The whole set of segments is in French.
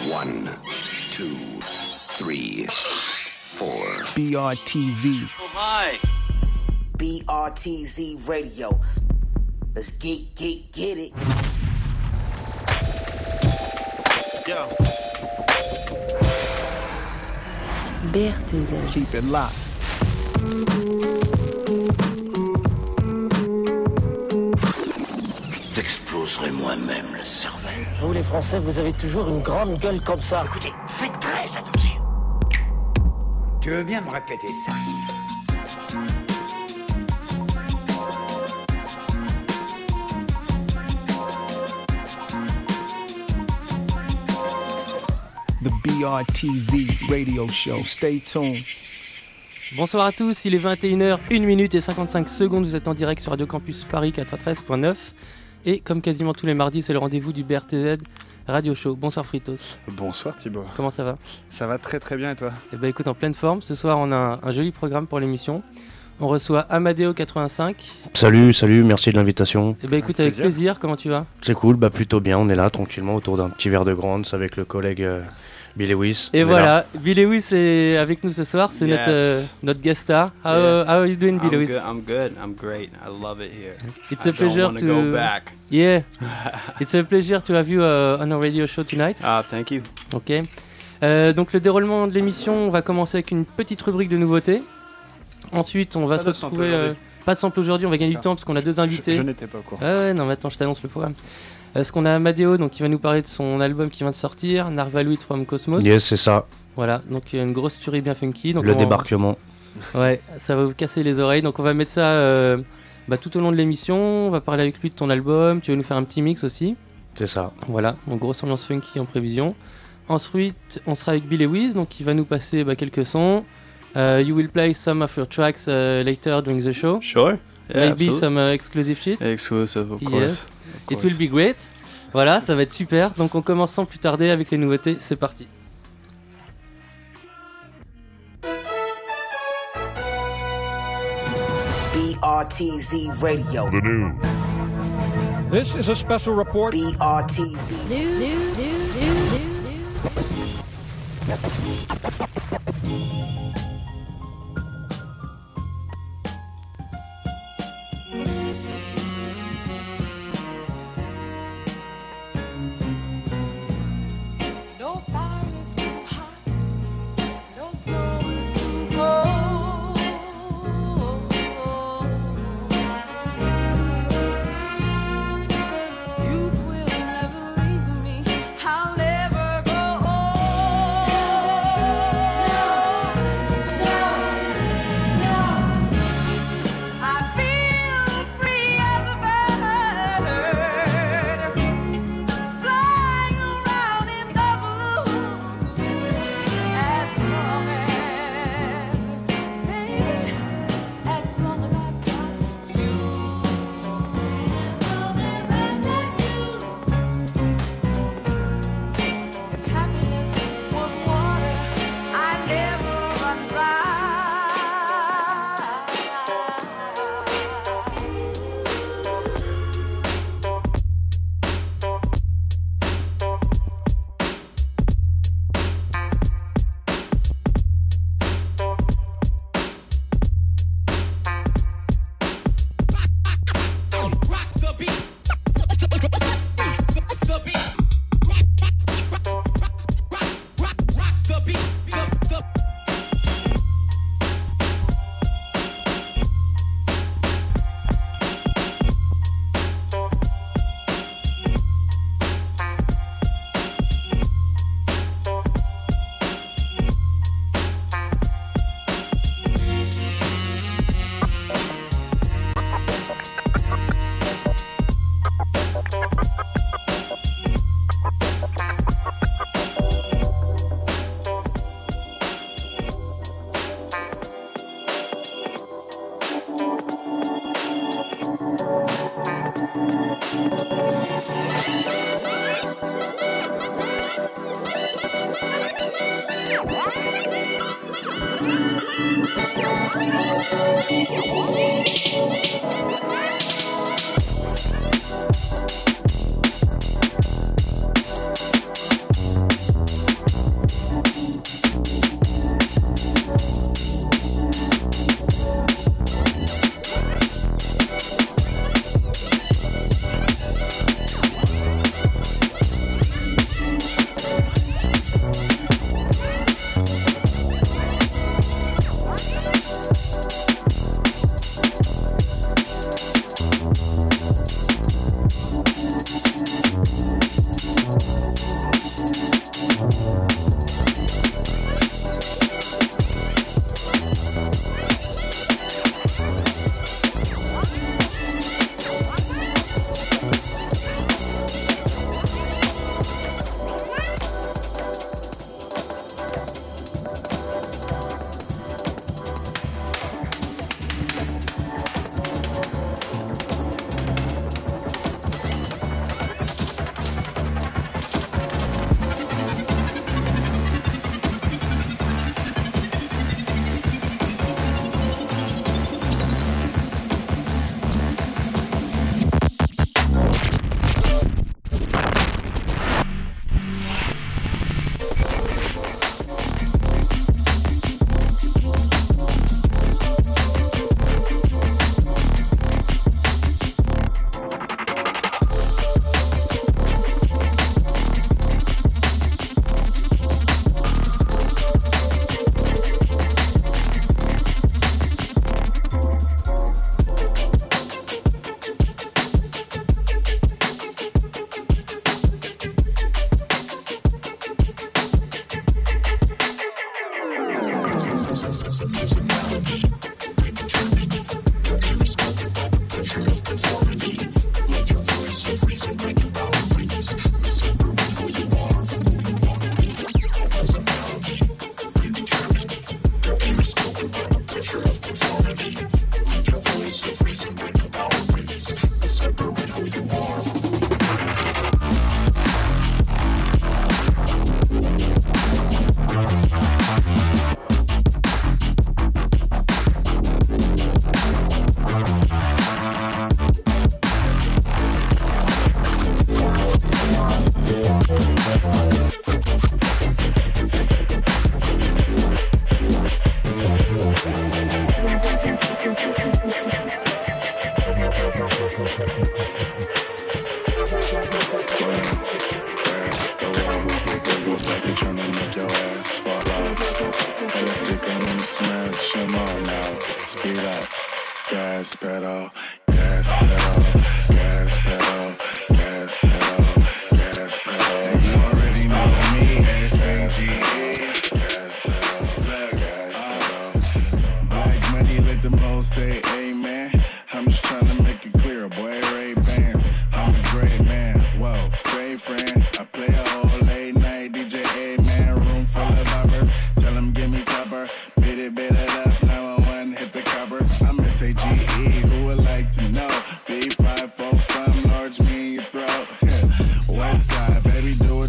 1, 2, 3, 4. BRTZ. Oh my. BRTZ Radio. Let's get it. Yo. BRTZ. Keep it locked. Je t'exploserai moi-même la cervelle. Vous les Français, vous avez toujours une grande gueule comme ça. Écoutez, faites très attention. Tu veux bien me répéter ça? The BRTZ Radio Show. Stay tuned. Bonsoir à tous, il est 21h, 1 minute et 55 secondes, vous êtes en direct sur Radio Campus Paris 93.9 et comme quasiment tous les mardis, c'est le rendez-vous du BRTZ Radio Show. Bonsoir Fritos. Bonsoir Thibaut. Comment ça va? Ça va très très bien et toi? Eh ben écoute, en pleine forme, ce soir on a un joli programme pour l'émission. On reçoit Amadeo85. Salut, merci de l'invitation. Eh ben écoute, avec plaisir, comment tu vas? C'est cool, plutôt bien, on est là tranquillement autour d'un petit verre de Grants avec le collègue Bill Lewis. Et voilà, Bill Lewis est avec nous ce soir, c'est notre guest star. How are you doing, Bill Lewis? I'm good, I'm great, I love it here. It's a pleasure to go back. Yeah, it's a pleasure to have you on our radio show tonight. Thank you. Ok. Donc le déroulement de l'émission, on va commencer avec une petite rubrique de nouveautés. Ensuite, on va se retrouver. Pas de sample aujourd'hui, on va gagner du temps parce qu'on a deux invités. Je n'étais pas au courant. Ouais, non, mais attends, je t'annonce le programme. Parce qu'on a Amadeo, donc qui va nous parler de son album qui vient de sortir, Narvaluit from Cosmos. Yes, c'est ça. Voilà, donc une grosse tuerie bien funky. Donc le débarquement. Ouais, ça va vous casser les oreilles. Donc on va mettre ça tout au long de l'émission. On va parler avec lui de ton album. Tu vas nous faire un petit mix aussi. C'est ça. Voilà, donc grosse ambiance funky en prévision. Ensuite, on sera avec Bill Lewis, donc qui va nous passer quelques sons. You will play some of your tracks later during the show. Sure. Yeah, Maybe absolutely. some exclusive shit. Exclusive, of Yes. course. It will be great. Voilà, ça va être super. Donc on commence sans plus tarder avec les nouveautés. C'est parti. BRTZ Radio. The news. This is a special report. BRTZ News.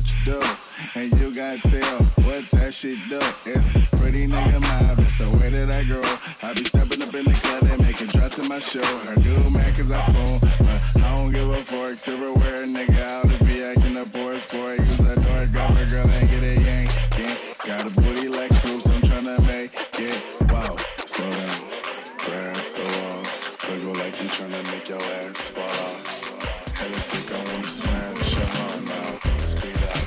you do. And you gotta tell what that shit do. It's pretty nigga mob, that's the way that I grow. I be stepping up in the club and make it drop to my show. Her dude mad cause I spoon, but I don't give a fork. Silverware nigga out if he acting up or a sport. Use a door, grab a girl and get a yank. Got a booty like Cruise, I'm tryna make it. Wow, slow down, grab the wall. Wiggle like you tryna make your ass fall off. Hella think I wanna smash, come on now, speed up.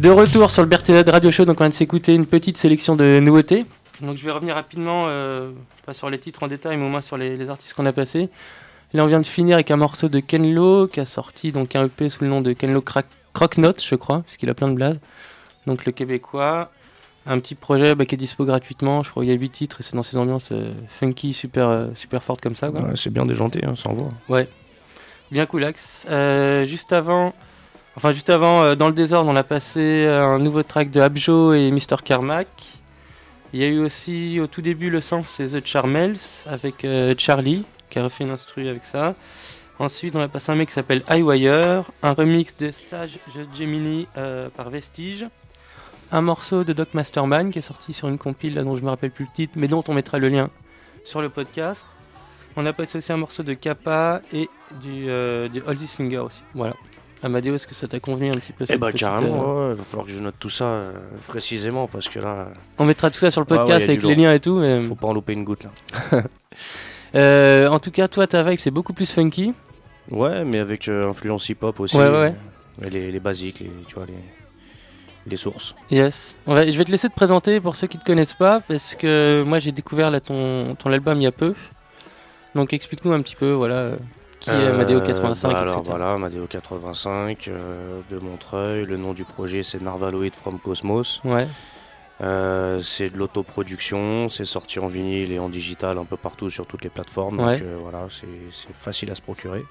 De retour sur le BRTZ Radio Show, donc on vient de s'écouter une petite sélection de nouveautés. Donc je vais revenir rapidement, pas sur les titres en détail, mais au moins sur les artistes qu'on a passés. Là on vient de finir avec un morceau de Ken Lo, qui a sorti donc un EP sous le nom de Ken Lo Croque-Note, je crois, puisqu'il a plein de blazes. Donc le Québécois, un petit projet qui est dispo gratuitement, je crois qu'il y a 8 titres, et c'est dans ces ambiances funky, super fortes comme ça, quoi. Ouais, c'est bien déjanté, ça envoie. Ouais, bien coolax. Juste avant, dans le désordre, on a passé un nouveau track de Abjo et Mr. Carmack. Il y a eu aussi au tout début le sample, c'est The Charmels avec Charlie qui a refait une instru avec ça. Ensuite, on a passé un mec qui s'appelle Highwire, un remix de Sage Gemini par Vestige, un morceau de Doc Masterman qui est sorti sur une compile là, dont je me rappelle plus le titre, mais dont on mettra le lien sur le podcast. On a passé aussi un morceau de Kappa et du All This Finger aussi. Voilà. Amadeo, est-ce que ça t'a convenu un petit peu? Carrément, il va falloir que je note tout ça précisément parce que là... On mettra tout ça sur le podcast avec les liens et tout. Mais... Faut pas en louper une goutte là. En tout cas, toi, ta vibe, c'est beaucoup plus funky. Ouais, mais avec influence hip-hop aussi. Ouais. Les basiques, les sources. Yes. Je vais te laisser te présenter pour ceux qui te connaissent pas, parce que moi j'ai découvert là, ton album il y a peu. Donc explique-nous un petit peu, voilà... Qui est Amadeo 85, etc. Alors voilà, Amadeo 85 de Montreuil. Le nom du projet c'est Narvaloid from Cosmos. Ouais. C'est de l'autoproduction, c'est sorti en vinyle et en digital un peu partout sur toutes les plateformes. Ouais. Donc voilà, c'est facile à se procurer.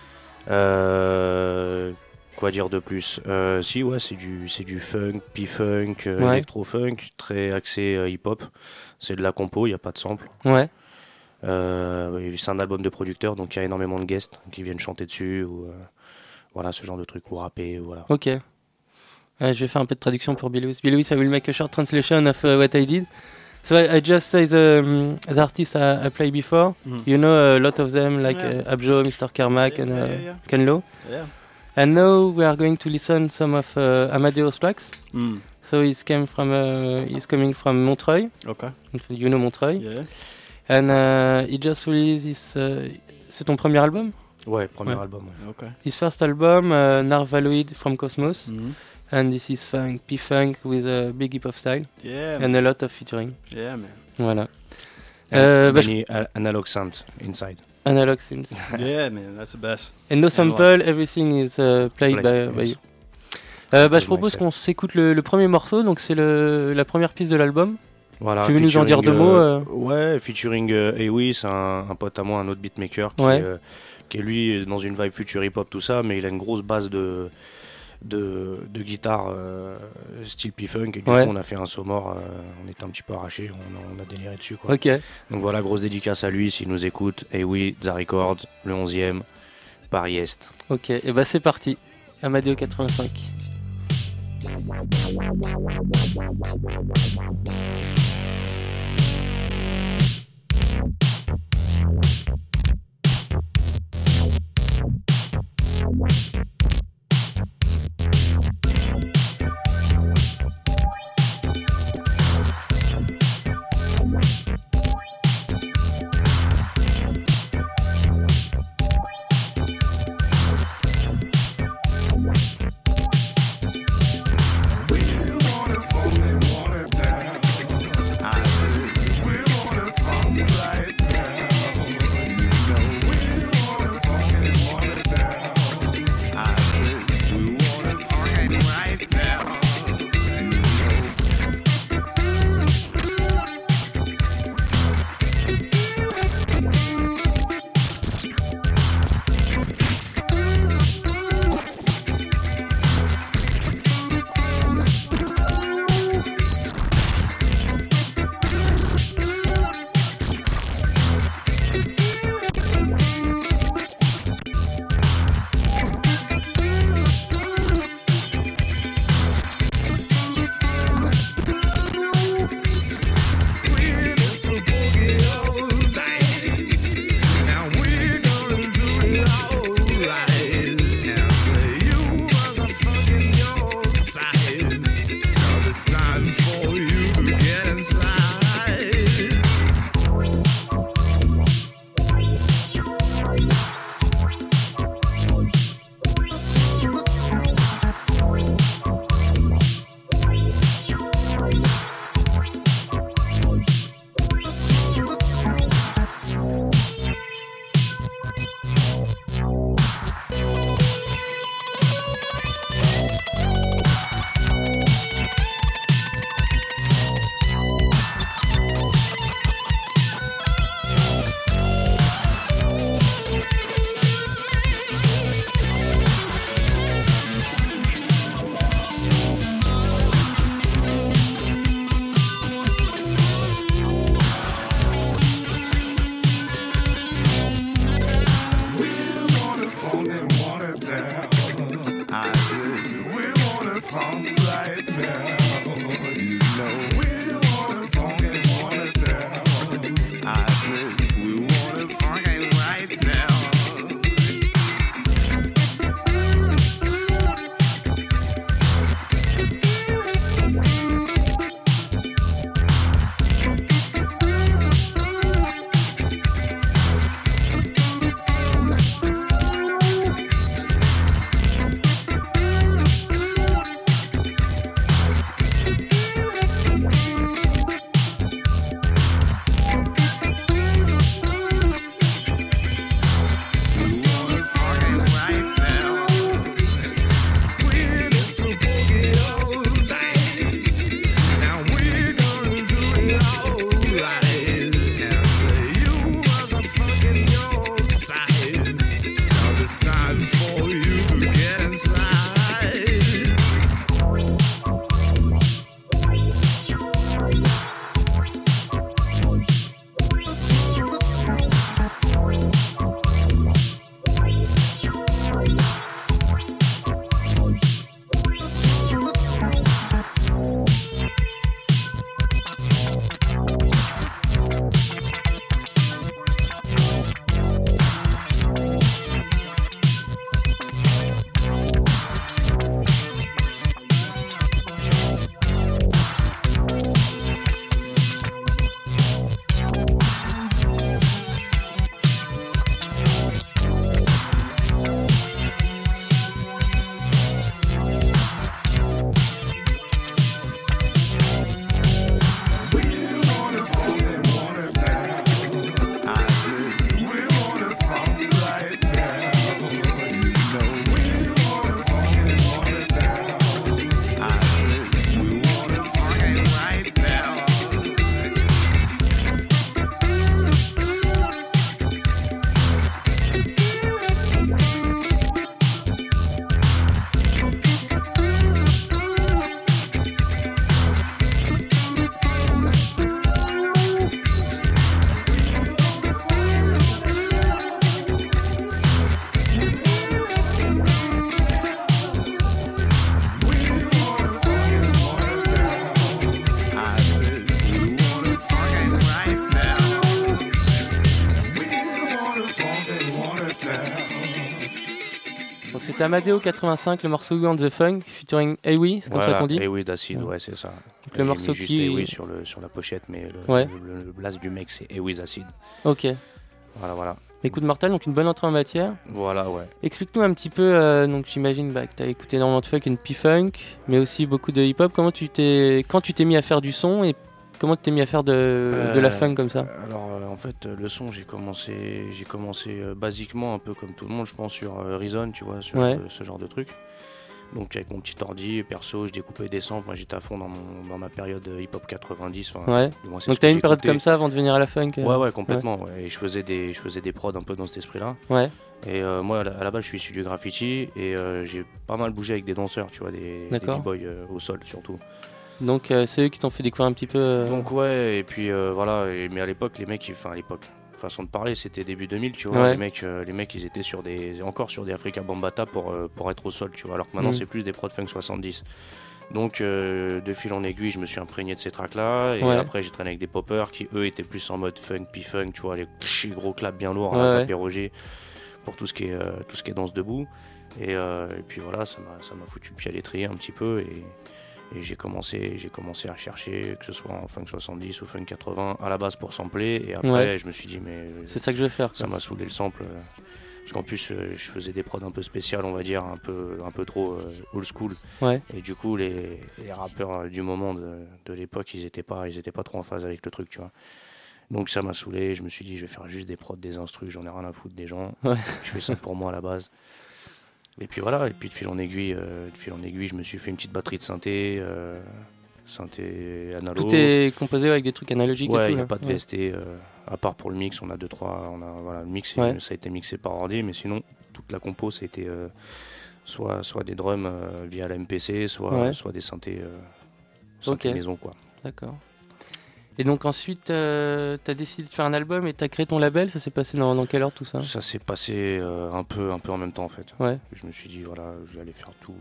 Quoi dire de plus? C'est du funk, P-funk, électro-funk, très axé hip-hop. C'est de la compo, il n'y a pas de sample. Ouais. C'est un album de producteurs, donc il y a énormément de guests qui viennent chanter dessus ou voilà, ce genre de trucs, ou rapper, voilà. Ok. Je vais faire un peu de traduction pour Billy Lewis. I will make a short translation of what I did. So I just say the artists I played before. You know a lot of them, like Abjo, Mr. Carmack, and Ken Lo. Yeah. And now we are going to listen some of Amadeo's tracks. So he's coming from Montreuil. Okay. You know Montreuil. Yeah. And he just released his... c'est ton premier album? Ouais, premier album. Ouais. Okay. His first album, Narvaloid from Cosmos. And this is funk, P-funk with a big hip-hop style. Yeah, and a lot of featuring. Yeah, man. Voilà. Many analog synths inside. Analog synths. Yeah, man, that's the best. And no sample, everything is played by you. Je propose qu'on s'écoute le premier morceau, donc c'est la première piste de l'album. Voilà, tu veux nous en dire deux mots Ouais, featuring Ewi, c'est un pote à moi, un autre beatmaker qui est lui dans une vibe future hip-hop, tout ça, mais il a une grosse base de guitare style P-Funk, et du coup on a fait un Somor, on était un petit peu arrachés, on a déliré dessus, quoi. Okay. Donc voilà, grosse dédicace à lui s'il nous écoute. Ewi, The Records, le 11e, Paris-Est. Ok, et c'est parti, Amadeo 85. funk right now. You know we wanna funk and wanna down. I said we wanna funk and right now. Donc c'était Amadeo 85, le morceau You and the Funk, featuring Ewi, c'est comme ça qu'on dit. Ewi d'Acid, ouais, c'est ça. Donc le morceau mis juste qui... Ewi sur la pochette, mais le blast du mec c'est Ewi d'Acid. Ok. Voilà. Écoute Mortal, donc une bonne entrée en matière. Voilà, ouais. Explique-nous un petit peu, donc j'imagine que tu as écouté énormément de funk et de P-Funk, mais aussi beaucoup de hip-hop. Quand tu t'es mis à faire du son et comment tu t'es mis à faire de la funk comme ça? Alors en fait le son j'ai commencé basiquement un peu comme tout le monde je pense sur Reason, tu vois, sur ce genre de truc. Donc avec mon petit ordi perso je découpais des samples, moi j'étais à fond dans ma période hip-hop 90. Ouais. Donc t'as eu une période comme ça avant de venir à la funk? Ouais complètement. Ouais. Et je faisais des prods un peu dans cet esprit-là. Ouais. Et moi à la base je suis issu du graffiti et j'ai pas mal bougé avec des danseurs, tu vois, des b-boys au sol surtout. Donc c'est eux qui t'ont fait découvrir un petit peu. Donc ouais, et puis voilà, mais à l'époque les mecs, façon de parler, c'était début 2000, tu vois. Ouais. Les mecs ils étaient encore sur des Africa Bambaataa pour être au sol, tu vois, alors que maintenant c'est plus des prods funk 70. Donc de fil en aiguille je me suis imprégné de ces tracks là et après j'ai traîné avec des poppers qui eux étaient plus en mode funk, P-funk, tu vois, les gros claps bien lourds à Zapé Roger pour tout ce qui est danse debout et puis voilà, ça m'a foutu le pied à l'étrier un petit peu et j'ai commencé à chercher, que ce soit en funk 70 ou funk 80 à la base pour sampler et après je me suis dit mais c'est ça que je vais faire, ça m'a saoulé le sample parce qu'en plus je faisais des prods un peu spéciales, on va dire un peu trop old school et du coup les rappeurs du moment de l'époque ils étaient pas trop en phase avec le truc, tu vois. Donc ça m'a saoulé, je me suis dit je vais faire juste des prods, des instrus, j'en ai rien à foutre des gens, je fais ça pour moi à la base. Et puis voilà, et puis de fil en aiguille, je me suis fait une petite batterie de synthé analogue. Tout est composé avec des trucs analogiques et tout. Il n'y a pas de VST, à part pour le mix, on a 2-3, le mix, ça a été mixé par ordi, mais sinon, toute la compo, c'était soit des drums via la MPC, soit des synthés maison, quoi. D'accord. Et donc ensuite, tu as décidé de faire un album et tu as créé ton label, ça s'est passé dans quelle heure tout ça? Ça s'est passé un peu en même temps en fait. Ouais. Je me suis dit voilà, je vais aller faire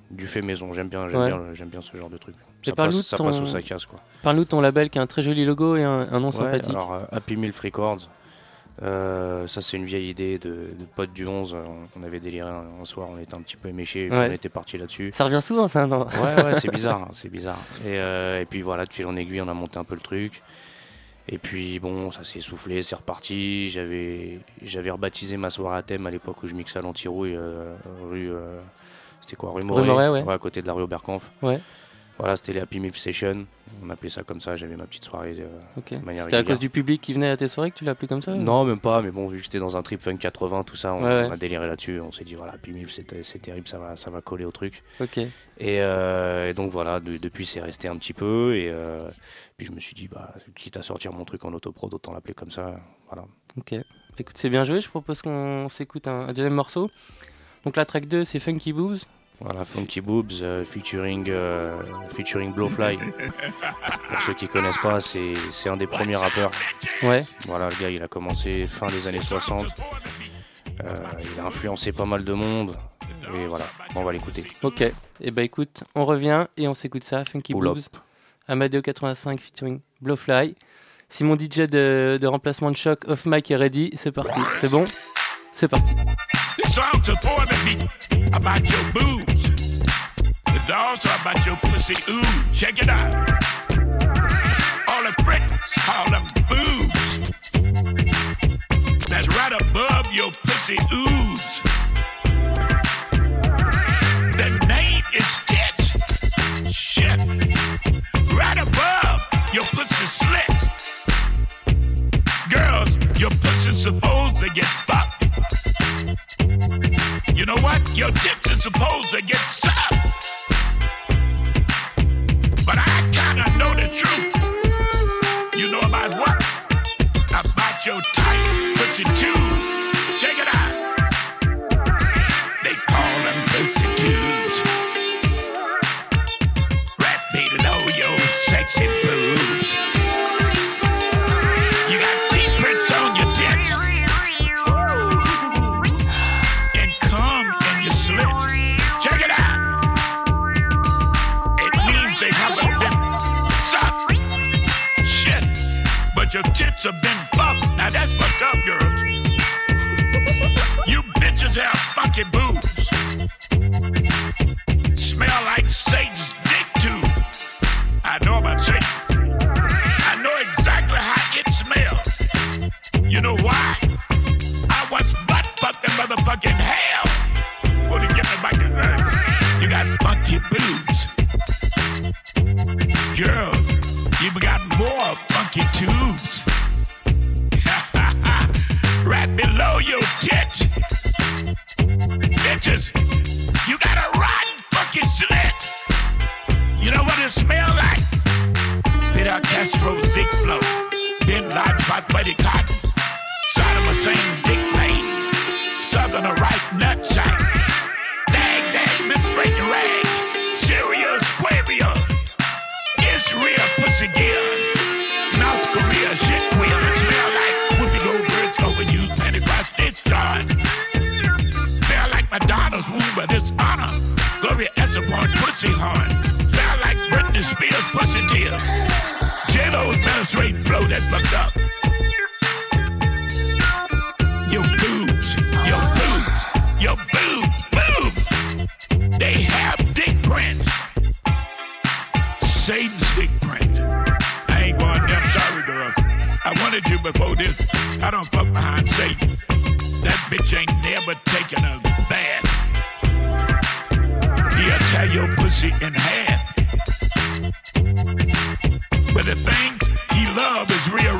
du fait maison. J'aime bien ce genre de truc. Ça passe ou ça casse, quoi. Parle-nous de ton label qui a un très joli logo et un nom sympathique. Alors Happy Milf Records. Ça c'est une vieille idée de potes du 11. On avait déliré un soir, on était un petit peu éméchés, on était parti là-dessus. Ça revient souvent, ça, non? Ouais, c'est bizarre, c'est bizarre. Et puis voilà, de fil en aiguille, on a monté un peu le truc. Et puis bon, ça s'est essoufflé, c'est reparti. J'avais rebaptisé ma soirée à thème à l'époque où je mixais à l'Antirouille, rue Moret, ouais, à côté de la rue Oberkampf. Ouais. Voilà, c'était les Happy Milf Sessions. On appelait ça comme ça, j'avais ma petite soirée de manière C'était à cause du public qui venait à tes soirées que tu l'as appelé comme ça? Non, même pas, mais bon, vu que c'était dans un trip funk 80, tout ça, on a déliré là-dessus. On s'est dit, voilà, Happy Milf, c'est terrible, ça va coller au truc. Ok. Et donc voilà, depuis c'est resté un petit peu. Et puis je me suis dit, quitte à sortir mon truc en autoprod, autant l'appeler comme ça. Voilà. Ok. Écoute, c'est bien joué, je propose qu'on s'écoute un deuxième morceau. Donc la track 2, c'est Funky Boobs. Voilà, Funky Boobs featuring Blowfly. Pour ceux qui connaissent pas, c'est un des premiers rappeurs. Ouais. Voilà, le gars, il a commencé fin des années 60. Il a influencé pas mal de monde. Et voilà, on va l'écouter. Ok. Et écoute, on revient et on s'écoute ça, Funky Boobs. Amadeo 85 featuring Blowfly. Si mon DJ de remplacement de choc off mic est ready, c'est parti. C'est bon? C'est parti. This song's supposed to be about your boobs. It's also about your pussy. Ooh, check it out. All the Brits call them boobs. That's right above your pussy ooze. The name is tits. Shit. Right above your pussy slit. Girls, your pussy's supposed to get fucked. You know what? Your tits are supposed to get sucked. But I kinda know the truth. You know about what? About your tight pussy tubes. Check it out. They call them pussy tubes. Rat below your sexy boobs. You got teeth prints on your tits. Check it out. It means they haven't been sucked. Shit. But your tits have been buffed. Now that's fucked up, girls. You bitches have funky boobs. Smell like Satan's dick too. I know about Satan. I know exactly how it smells. You know why? I was butt fucked in motherfucking hell. To get me back in there. You got funky boobs. Girl, you got more funky tubes. Right below your tits. Bitches, you got a rotten funky slit. You know what it smells like? Fidel Castro's dick flow. Bin Laden, Hot Buddy Cotton. Saddam Hussein's dick vein. Southern right nut sack. Menstruating rag, Syria, Squabia, Israel, pussy gear, North Korea, shit wheel, it smell like Whoopi Goldberg's overused Pentecost discharge. Smell like Madonna's womb of dishonor, Gloria Estefan pussy horn. Smell like Britney Spears pussy tears. J-Lo's menstruating flow that fucked up. Your boobs, your boobs, your boobs. They have dick prints. Satan's dick print. I ain't going there, I'm sorry, girl. I wanted you before this. I don't fuck behind Satan. That bitch ain't never taken a bath. He'll tear your pussy in half. But the things he love is real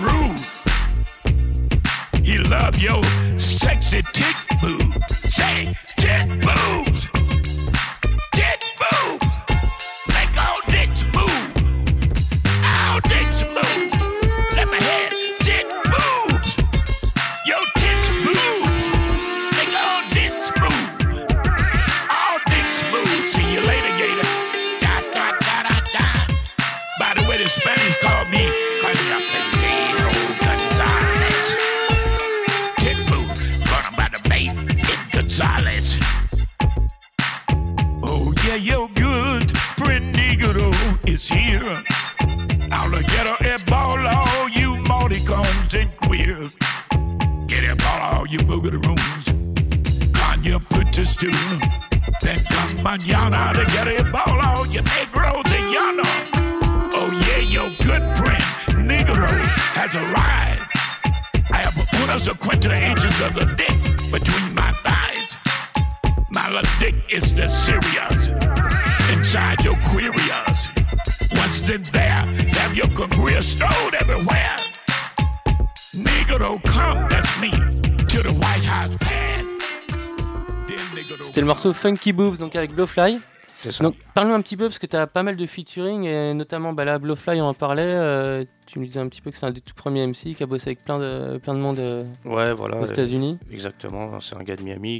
rude. He love your sexy tit boobs. Say, tit boobs. Tit boobs. Make all dicks move. All dicks move. Let me hear tit boobs. Your tits boobs. Make all dicks move. All dicks move. See you later, gator. God yeah, your good friend Negro is here. I'll get her a ball, all you multicoms and queers. Get a ball, all you boogaroos. Can you put this to? Then come mañana to get a ball, all you Negros and yonder. Oh yeah, your good friend Negro has arrived. I have put us acquainted the inches of the dick between my thighs. My little dick is the serious inside your queerias. Once in there, have your career stowed everywhere. Negro come, that's me, to the White House pad. C'était le morceau Funky Boobs, donc avec Blowfly. C'est ça. Donc parle-nous un petit peu, parce que tu as pas mal de featuring, et notamment là, Blowfly, on en parlait. Tu nous disais un petit peu que c'est un des tout premiers MC qui a bossé avec plein de monde ouais, voilà, aux États-Unis. Exactement, c'est un gars de Miami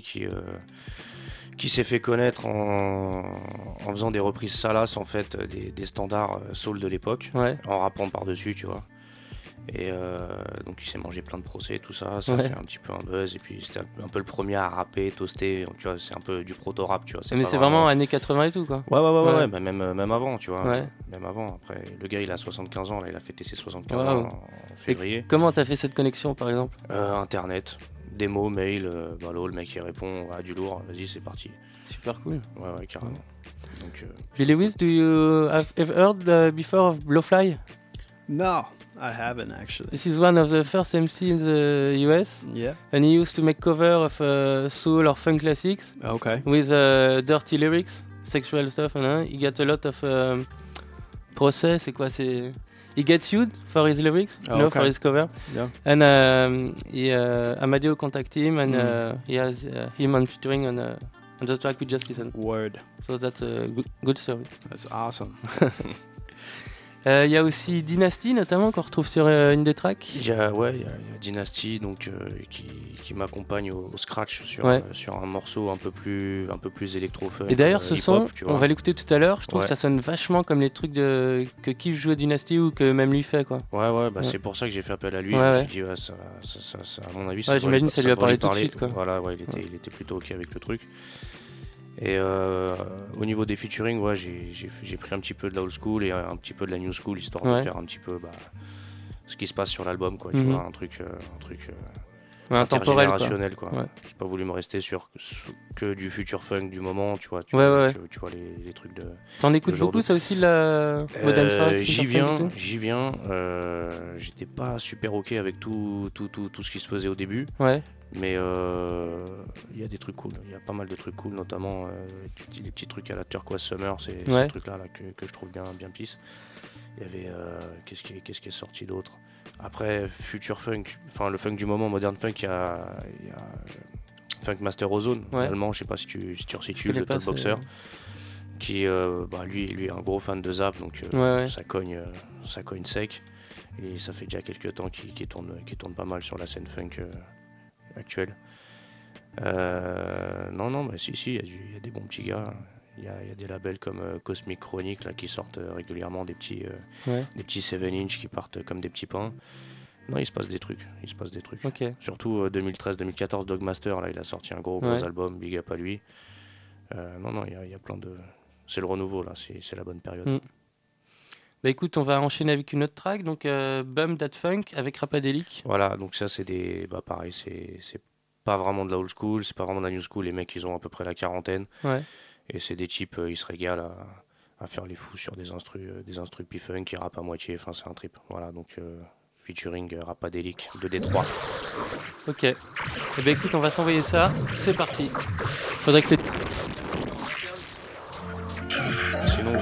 qui s'est fait connaître en faisant des reprises salaces en fait des standards soul de l'époque, ouais. En rappant par-dessus, tu vois. Et donc il s'est mangé plein de procès, tout ça, ça ouais. fait un petit peu un buzz. Et puis c'était un peu le premier à rapper, toaster, tu vois, c'est un peu du proto-rap, tu vois. Mais c'est vraiment années 80 et tout, quoi. Ouais, bah, même avant, tu vois. Ouais. Même avant, après, le gars il a 75 ans, là, il a fêté ses 75 wow. ans en février. Et comment t'as fait cette connexion, par exemple? Internet, démo, mail, le mec il répond, du lourd, vas-y c'est parti. Super cool. Ouais, carrément. Donc, Billy Wiz, do you have ever heard before of Blowfly? No, I haven't actually. This is one of the first MC in the US. Yeah. And he used to make cover of soul or funk classics. Okay. With dirty lyrics, sexual stuff, and he got a lot of process. C'est quoi? He gets sued for his lyrics, okay. for his cover. Yeah. And Amadeo contacted him, and he has him on featuring on the track we just listened. Word. So that's a good story. That's awesome. Il y a aussi Dynasty notamment qu'on retrouve sur une des tracks. Il y a Dynasty donc qui m'accompagne au scratch sur un morceau un peu plus électro-funk. Et d'ailleurs ce son, on va l'écouter tout à l'heure. Je trouve que ça sonne vachement comme les trucs que Keef joue à Dynasty ou que même lui fait, quoi. Ouais. C'est pour ça que j'ai fait appel à lui. Je me suis dit ça, à mon avis, j'imagine que ça lui a parlé tout de suite, quoi. Voilà, il était plutôt ok avec le truc. Et au niveau des featuring, j'ai pris un petit peu de la old school et un petit peu de la new school, histoire de faire un petit peu ce qui se passe sur l'album, quoi. Tu vois, un truc intergénérationnel, quoi. Ouais. J'ai pas voulu me rester sur que du future funk du moment, tu vois. Tu vois les trucs de. T'en écoutes beaucoup, ça aussi, la modern funk? J'y viens. J'étais pas super ok avec tout ce qui se faisait au début. Ouais. Mais il y a des trucs cool, il y a pas mal de trucs cool, notamment les petits trucs à la Turquoise Summer, c'est ce truc-là que je trouve bien pisse. Il y avait qu'est-ce qui est sorti d'autre. Après Future Funk, enfin le funk du moment, Modern Funk, il y a Funk Master Ozone, allemand, je sais pas si tu resitues, le top boxer, qui lui est un gros fan de Zap, donc ça cogne sec, et ça fait déjà quelques temps qu'il tourne pas mal sur la scène funk actuelle. Non, si, il y a des bons petits gars. Il y a des labels comme Cosmic Chronic là, qui sortent régulièrement des petits 7-inch qui partent comme des petits pains. Non, il se passe des trucs. Okay. Surtout 2013-2014, Dogmaster, là, il a sorti un gros album, big up à lui. Non, il y a plein de... C'est le renouveau, là, c'est la bonne période. Bah écoute, on va enchaîner avec une autre track, donc Bum That Funk avec Rapadelic. Voilà, donc ça c'est pareil, c'est pas vraiment de la old school, c'est pas vraiment de la new school, les mecs ils ont à peu près la quarantaine. Ouais. Et c'est des types, ils se régalent à faire les fous sur des instrus P-Funk, qui rappent à moitié, enfin c'est un trip. Voilà, donc featuring Rapadelic de Détroit. Ok, et bah écoute, on va s'envoyer ça, c'est parti. Faudrait que Sinon,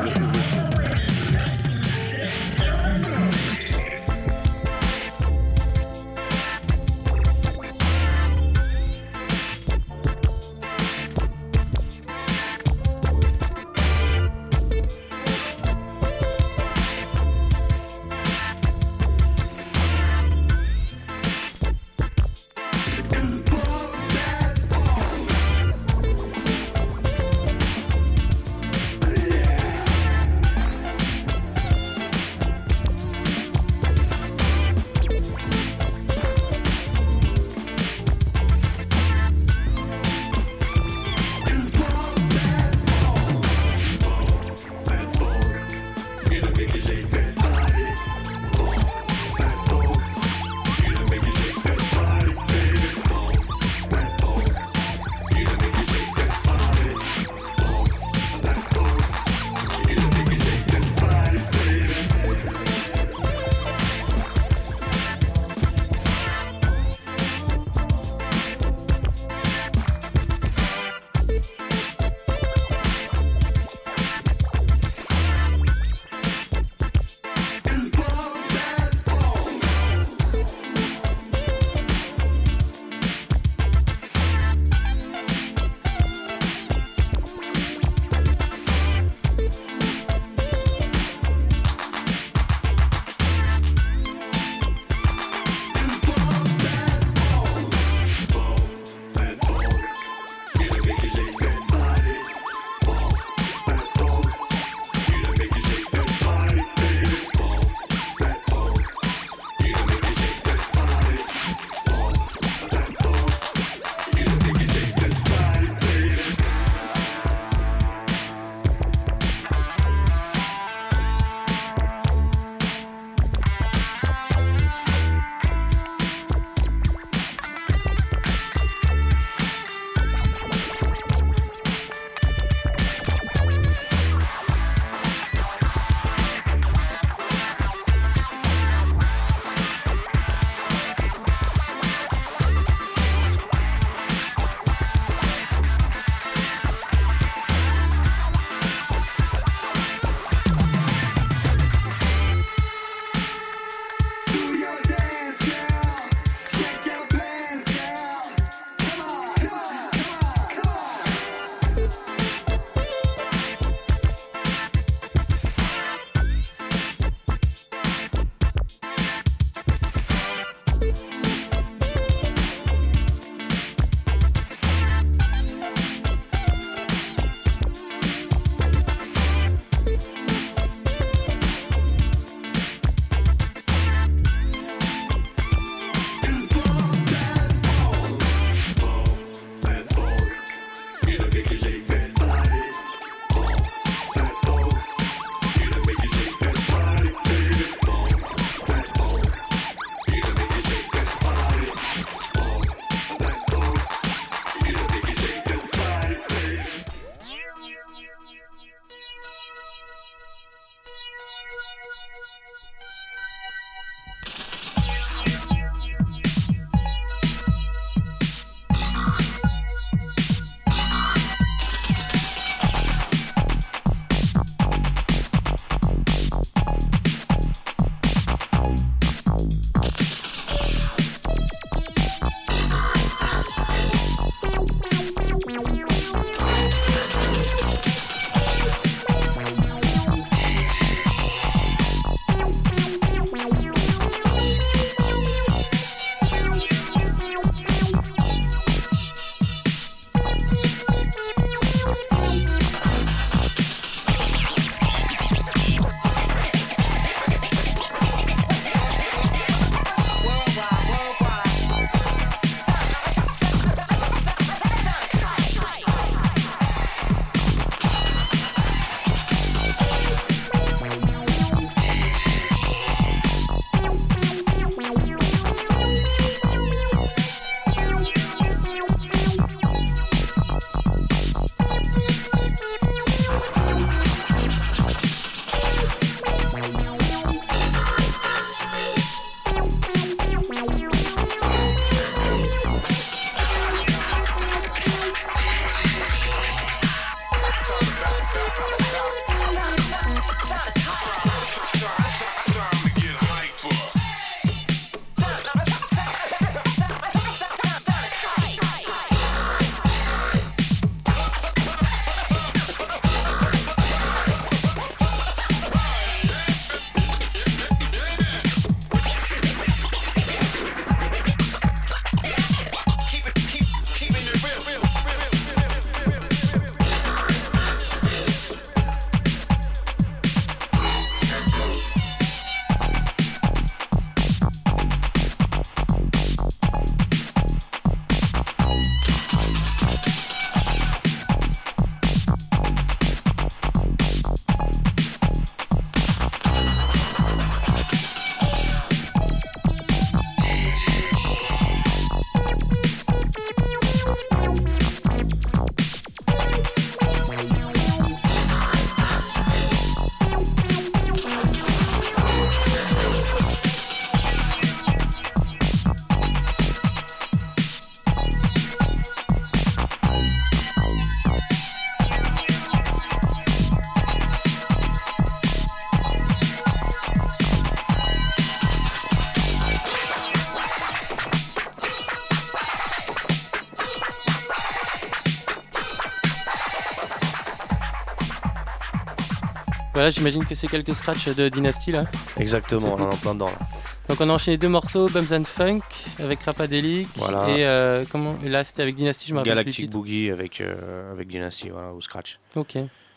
Voilà, j'imagine que c'est quelques scratchs de Dynasty là. Exactement, on en est en plein dedans là. Donc on a enchaîné 2 morceaux, Bums and Funk avec Rapadelic, voilà. Et là c'était avec Dynasty, je me rappelle plus le titre. Galactic Boogie avec Dynasty, voilà, ou Scratch. Ok.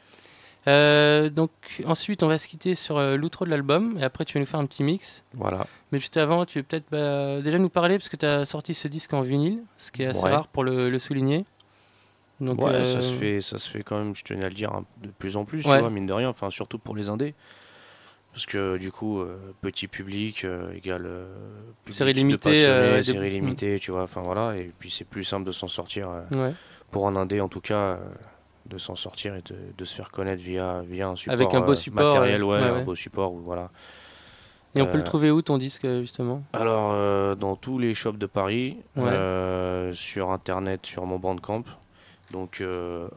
Donc ensuite on va se quitter sur l'outro de l'album et après tu vas nous faire un petit mix. Voilà. Mais juste avant tu veux peut-être déjà nous parler parce que tu as sorti ce disque en vinyle, ce qui est assez rare pour le souligner. Donc, ouais, ça se fait quand même, je tenais à le dire, de plus en plus, tu vois, mine de rien, enfin surtout pour les indés. Parce que du coup, petit public égale série limitée, série limitée, tu vois, enfin voilà, et puis c'est plus simple de s'en sortir pour un indé en tout cas, de s'en sortir et de se faire connaître via un support, avec un beau support matériel, un beau support, voilà. Et on peut le trouver où ton disque justement? Alors dans tous les shops de Paris, sur internet, sur mon Bandcamp. Donc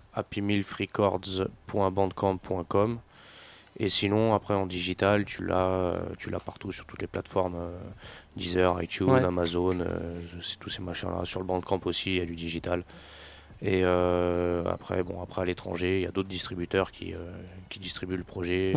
happymilfrecords.bandcamp.com. Et sinon après en digital tu l'as partout sur toutes les plateformes, Deezer, iTunes, Amazon, c'est tous ces machins là. Sur le Bandcamp aussi il y a du digital. Et après à l'étranger il y a d'autres distributeurs qui distribuent le projet,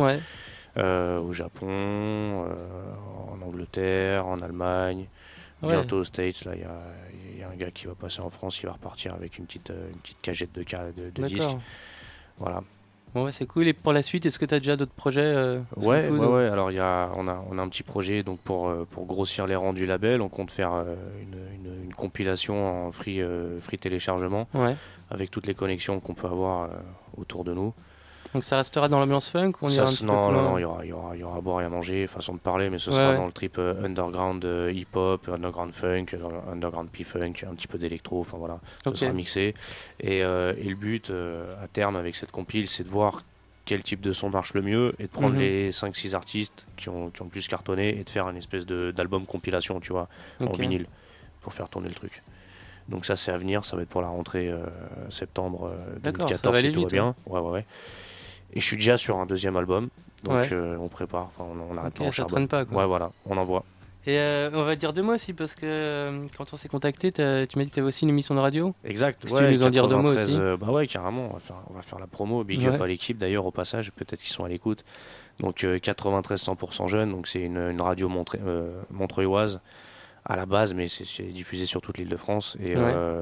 au Japon, en Angleterre, en Allemagne. Bientôt aux States, là, il y a un gars qui va passer en France, il va repartir avec une petite cagette de disques. Voilà. Bon, c'est cool. Et pour la suite, est-ce que tu as déjà d'autres projets Ouais. Alors, on a un petit projet donc pour grossir les rangs du label. On compte faire une compilation en free téléchargement avec toutes les connexions qu'on peut avoir autour de nous. Donc ça restera dans l'ambiance funk ou Non, il y aura à boire et à manger, façon de parler, mais ce sera dans le trip underground hip-hop, underground funk, underground P-funk, un petit peu d'électro, enfin voilà, ce sera mixé. Et le but à terme avec cette compile, c'est de voir quel type de son marche le mieux et de prendre les 5-6 artistes qui ont le plus cartonné et de faire une espèce d'album compilation, tu vois, en vinyle, pour faire tourner le truc. Donc ça c'est à venir, ça va être pour la rentrée septembre 2014 si tout va bien. Ouais. Et je suis déjà sur un deuxième album, donc on prépare, on arrête pas, on ça traîne pas quoi. Ouais voilà, on envoie. Et on va dire 2 mots aussi parce que quand on s'est contacté, tu m'as dit que tu avais aussi une émission de radio. Exact. Tu veux nous en dire 2 mots aussi. Bah ouais, carrément, on va faire la promo, big up à l'équipe d'ailleurs au passage, peut-être qu'ils sont à l'écoute. Donc 93 100% jeunes, donc c'est une radio montreuilloise à la base, mais c'est diffusé sur toute l'Île-de-France et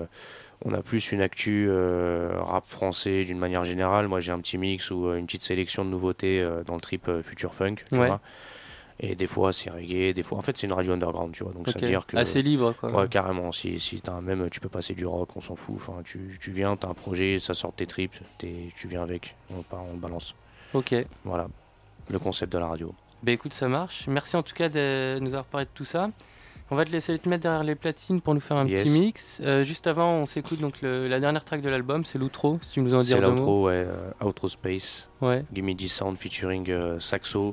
on a plus une actu rap français d'une manière générale. Moi j'ai un petit mix ou une petite sélection de nouveautés dans le trip future funk, tu vois. Et des fois c'est reggae, des fois en fait c'est une radio underground, tu vois. Donc ça veut dire que assez libre quoi. Ouais, carrément. Si t'as tu peux passer du rock, on s'en fout. Enfin tu viens, t'as un projet, ça sort de tes tripes, tu viens avec, on le balance. Ok. Voilà le concept de la radio. Bah écoute, ça marche. Merci en tout cas de nous avoir parlé de tout ça. On va te laisser te mettre derrière les platines pour nous faire un petit mix. Juste avant, on s'écoute donc la dernière track de l'album, c'est l'outro, si tu nous en dis 2 mots. C'est l'outro, ouais, Outro Space. Gimme the Sound featuring Saxo.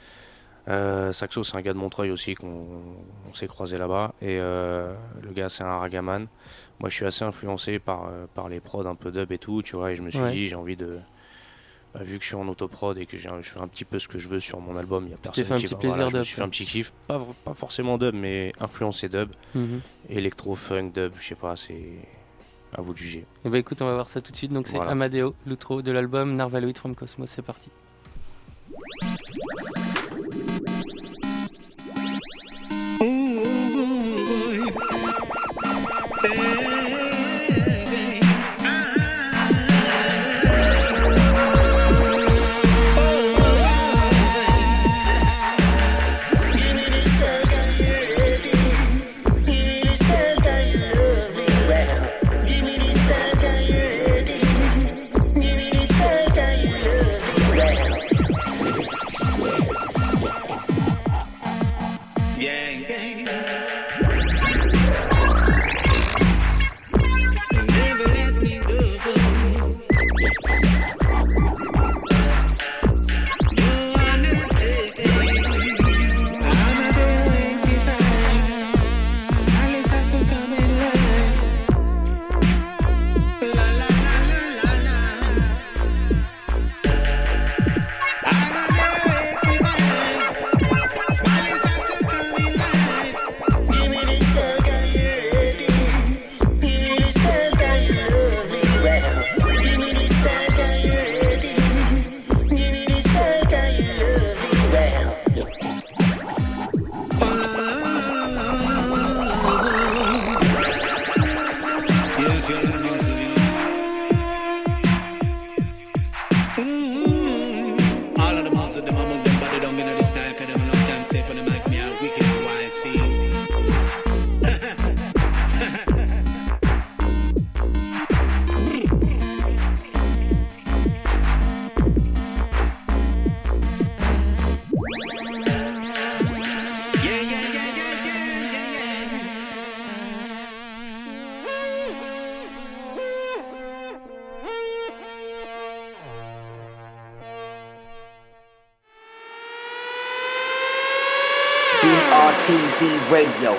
Saxo, c'est un gars de Montreuil aussi qu'on s'est croisé là-bas. Et le gars, c'est un ragaman. Moi, je suis assez influencé par les prods un peu dub et tout, tu vois. Et je me suis dit, j'ai envie de vu que je suis en autoprod et que je fais un petit peu ce que je veux sur mon album, il y a personne fait un qui petit va. plaisir Voilà, je me dub, suis fait un petit kiff, pas forcément dub, mais influencé dub, électro, funk, dub, je sais pas, c'est à vous de juger. Et bah écoute, on va voir ça tout de suite. Donc c'est Amadeo, l'outro de l'album Narvaloid from Cosmos. C'est parti. BRTZ Radio.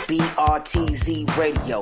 BRTZ Radio.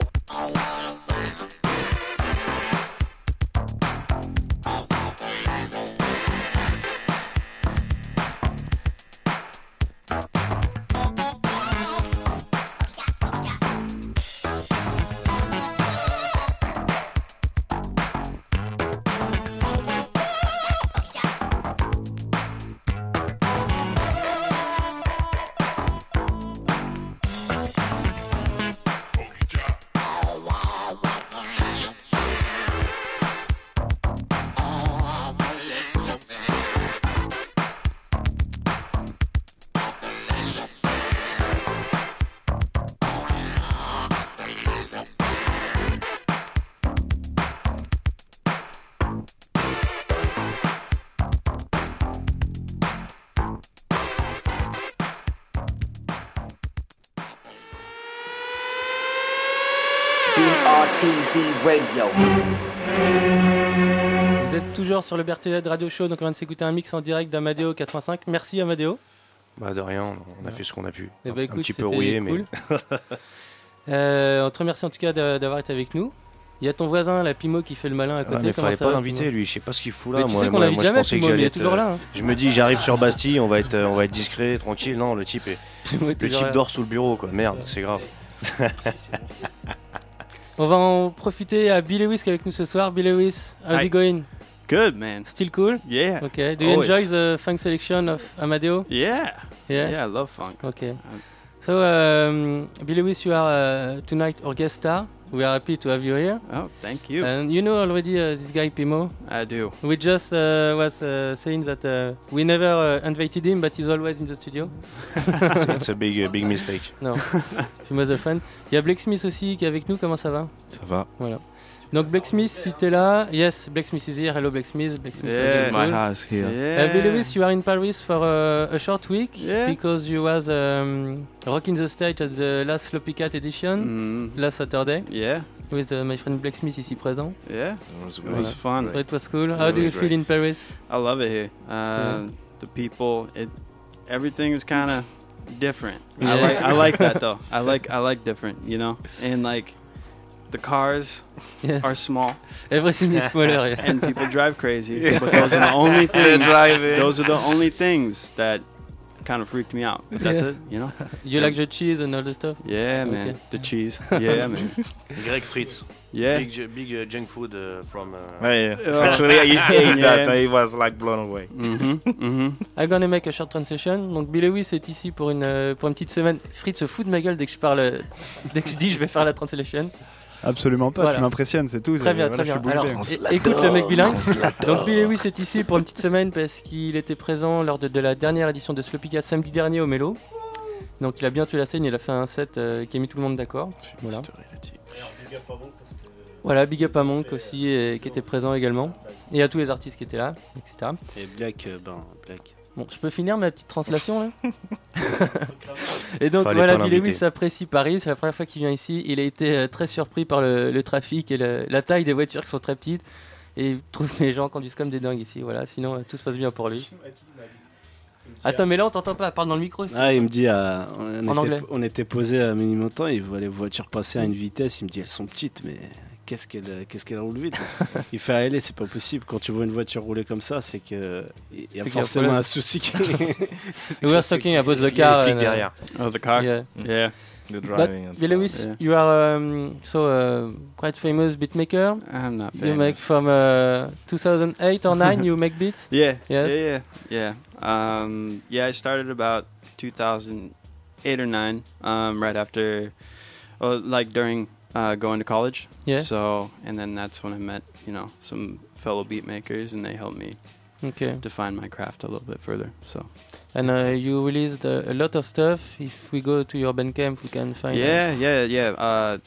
BRTZ Radio. Vous êtes toujours sur le BRTZ Radio Show, donc on vient de s'écouter un mix en direct d'Amadeo 85. Merci Amadeo. Bah de rien, on a fait ce qu'on a pu. Et bah, écoute, un petit peu rouillé, cool. mais... on te remercie en tout cas d'avoir été avec nous. Il y a ton voisin, la Pimo, qui fait le malin à côté. Mais fallait pas l'inviter, lui. Je sais pas ce qu'il fout là. Mais tu sais qu'on l'invite jamais, Pimo, il est toujours là. Hein. Je me dis, j'arrive sur Bastille, on va être discret, tranquille. Non, le type dort sous le bureau, quoi. Merde, c'est grave. On va en profiter à Bill Lewis qui est avec nous ce soir. Bill Lewis, how's it going? Good, man. Still cool? Yeah. Okay. Do you enjoy the funk selection of Amadeo? Yeah. Yeah. Yeah, I love funk. Okay. So, Bill Lewis, you are tonight our guest star. We are happy to have you here. Oh, thank you. And you know already this guy Pimo? I do. We just was saying that we never invited him, but he's always in the studio. It's a big mistake. Non, Pimo's a fan. Il y a Blake Smith aussi qui est avec nous, comment ça va? Ça va. Voilà. Donc Blake Smith, si t'es là, yes, Blake Smith is here. Hello Blake Smith. Blake Smith This is my house here. Yeah. Bill Lewis, you are in Paris for a short week Yeah. because you was rocking the stage at the last Sloppy Cat edition last Saturday Yeah. with my friend Blake Smith ici présent. Yeah. It It was fun. So it was cool. How do you feel in Paris? I love it here. The people, everything is kind of different. Yeah. I like that though. I like different, you know. And like the cars are small. Everything is smaller. Yeah. And people drive crazy. But those are the only things. Those are the only things that kind of freaked me out. But that's it, you know. You like the cheese and all the stuff? Yeah, man. Okay. The cheese. Yeah, man. Greg Fritz. Yeah. Big junk food from. Actually, he ate that and he was like blown away. I'm gonna make a short translation. Donc Bill Lewis est ici pour une petite semaine. Fritz se fout de ma gueule dès que je parle, dès que je dis je vais faire la translation. Absolument pas, Voilà. tu m'impressionnes, c'est tout. Très bien, Voilà, très je bien. suis Alors, bouleversé. écoute le mec bilingue. Donc Bill Lewis est ici pour une petite semaine parce qu'il était présent lors de la dernière édition de Sloppy Cat samedi dernier au Mélo. Donc il a bien tué la scène, il a fait un set qui a mis tout le monde d'accord. Voilà. Voilà, big up à Monk aussi qui était présent également. Et à tous les artistes qui étaient là, etc. Et Black. Bon, je peux finir ma petite translation là. Et donc Fallait voilà, pas Bill l'inviter. Lewis apprécie Paris, c'est la première fois qu'il vient ici. Il a été très surpris par le trafic et la taille des voitures qui sont très petites. Et il trouve que les gens conduisent comme des dingues ici. Voilà, sinon tout se passe bien pour lui. Attends, mais là on t'entend pas, parle dans le micro. Ah, il me dit, anglais. on était posé à Ménilmontant, il voit les voitures passer à une vitesse, il me dit elles sont petites, mais qu'est-ce qu'elle roule vite. Il fait allez, c'est pas possible. Quand tu vois une voiture rouler comme ça, c'est que il y a forcément un souci. We were talking about the car. Les flics derrière. Oh, the car. Yeah. Yeah. The But driving and Bill Lewis, Yeah. you are quite famous beatmaker. I'm not famous. You make from 2008 or 9. You make beats. Yeah. Yes. Yeah. I started about 2008 or 9. Right after, like during going to college. Yeah. So, and then that's when I met, some fellow beat makers, and they helped me Okay. define my craft a little bit further. So. And you released a lot of stuff. If we go to your Bandcamp, we can find. Yeah.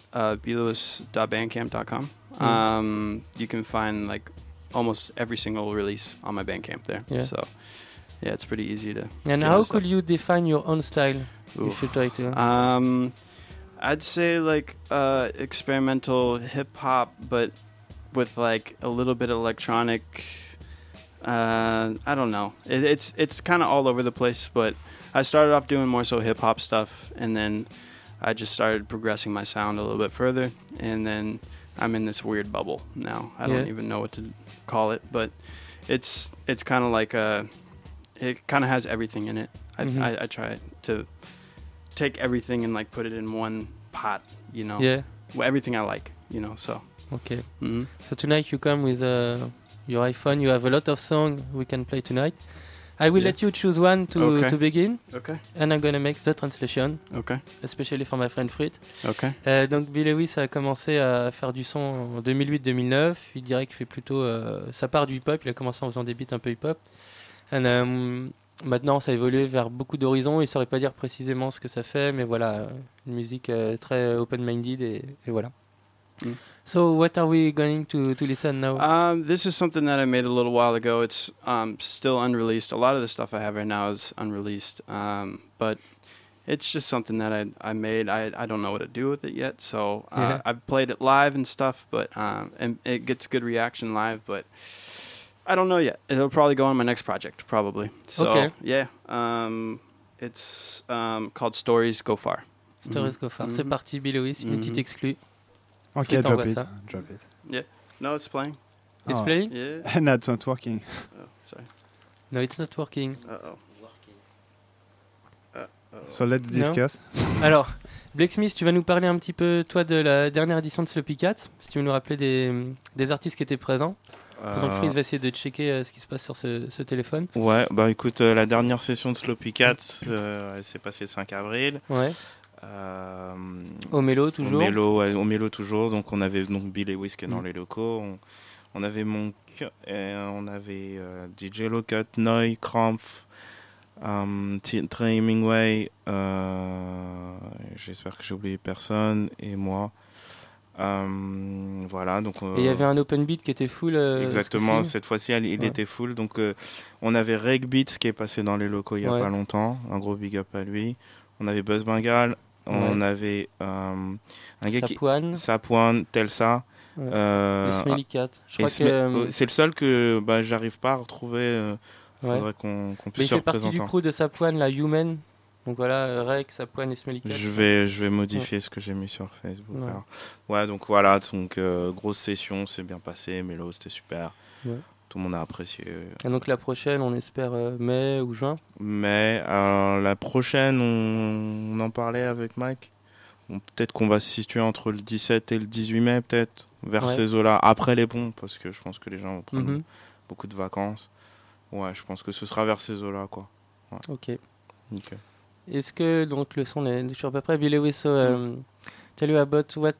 blewis.bandcamp.com. You can find like almost every single release on my Bandcamp there. Yeah. So, yeah, it's pretty easy to. And get how my stuff. could you define your own style? Oof. If you try to. I'd say like experimental hip hop, but with like a little bit of electronic. I don't know. It's kind of all over the place, but I started off doing more so hip hop stuff, and then I just started progressing my sound a little bit further, and then I'm in this weird bubble now. I don't even know what to call it, but it's kind of like it kind of has everything in it. I try to take everything and like put it in one pot, you know. Yeah. Everything I like, you know. So. Okay. So tonight you come with your iPhone. You have a lot of songs we can play tonight. I will let you choose one to begin. Okay. And I'm gonna make the translation. Okay. Especially for my friend Frit. Okay. Donc Bill Lewis a commencé à faire du son en 2008-2009. Il dirait qu'il fait plutôt ça part du hip-hop. Il a commencé en faisant des beats un peu hip-hop. Maintenant, ça a évolué vers beaucoup d'horizons. Il ne saurait pas dire précisément ce que ça fait, mais voilà, une musique très open-minded et voilà. So, what are we going to listen now? This is something that I made a little while ago. It's still unreleased. A lot of the stuff I have right now is unreleased, but it's just something that I made. I don't know what to do with it yet, so I've played it live and stuff, but and it gets good reaction live, but I don't know yet. It'll probably go on my next project, probably. So, yeah. It's called Stories Go Far. Stories Go Far. C'est parti, Bill Lewis, une petite exclue. Okay, drop it. Yeah. No, it's playing. It's playing? Yeah. No, it's not working. Oh, sorry. No, it's not working. Uh-oh. So let's discuss. No? Alors, Blake Smith, tu vas nous parler un petit peu, toi, de la dernière édition de Sloppy Cat. Si tu veux nous rappeler des artistes qui étaient présents. Pendant que Freeze va essayer de checker ce qui se passe sur ce téléphone. Ouais, bah écoute, la dernière session de Sloppy Cat, elle s'est passée le 5 avril. Ouais. Au Mélo toujours. Au Mélo toujours. Donc on avait donc Bill Lewis qui est dans les locaux. On avait Monk, on avait DJ Locut, Noy, Krampf, Trey Hemingway. J'espère que j'ai oublié personne et moi. Voilà, donc et il y avait un open beat qui était full. Exactement, cette fois-ci il était full. Donc on avait Reg Beats qui est passé dans les locaux il y a pas longtemps. Un gros big up à lui. On avait Buzz Bengal. On avait un gars Sapuan, Telsa. Et Smelly Cat. Je crois que c'est le seul que j'arrive pas à retrouver. Faudrait qu'on puisse se représenter. Il fait partie du crew de Sapuan, la Human. Donc voilà, Rek, Sapuan et Smelly Cat. Je vais modifier ce que j'ai mis sur Facebook. Ouais, alors. Ouais, donc voilà, grosse session, c'est bien passé. Mélo, c'était super. Ouais. Tout le monde a apprécié. Et donc la prochaine, on espère mai ou juin. Mai, la prochaine, on en parlait avec Mike. Peut-être qu'on va se situer entre le 17 et le 18 mai, peut-être, vers ces eaux-là. Après les ponts, parce que je pense que les gens vont prendre beaucoup de vacances. Ouais, je pense que ce sera vers ces eaux-là, quoi. Ouais. Ok. Est-ce que donc le son est toujours à peu près? Bill Lewis, tell you about what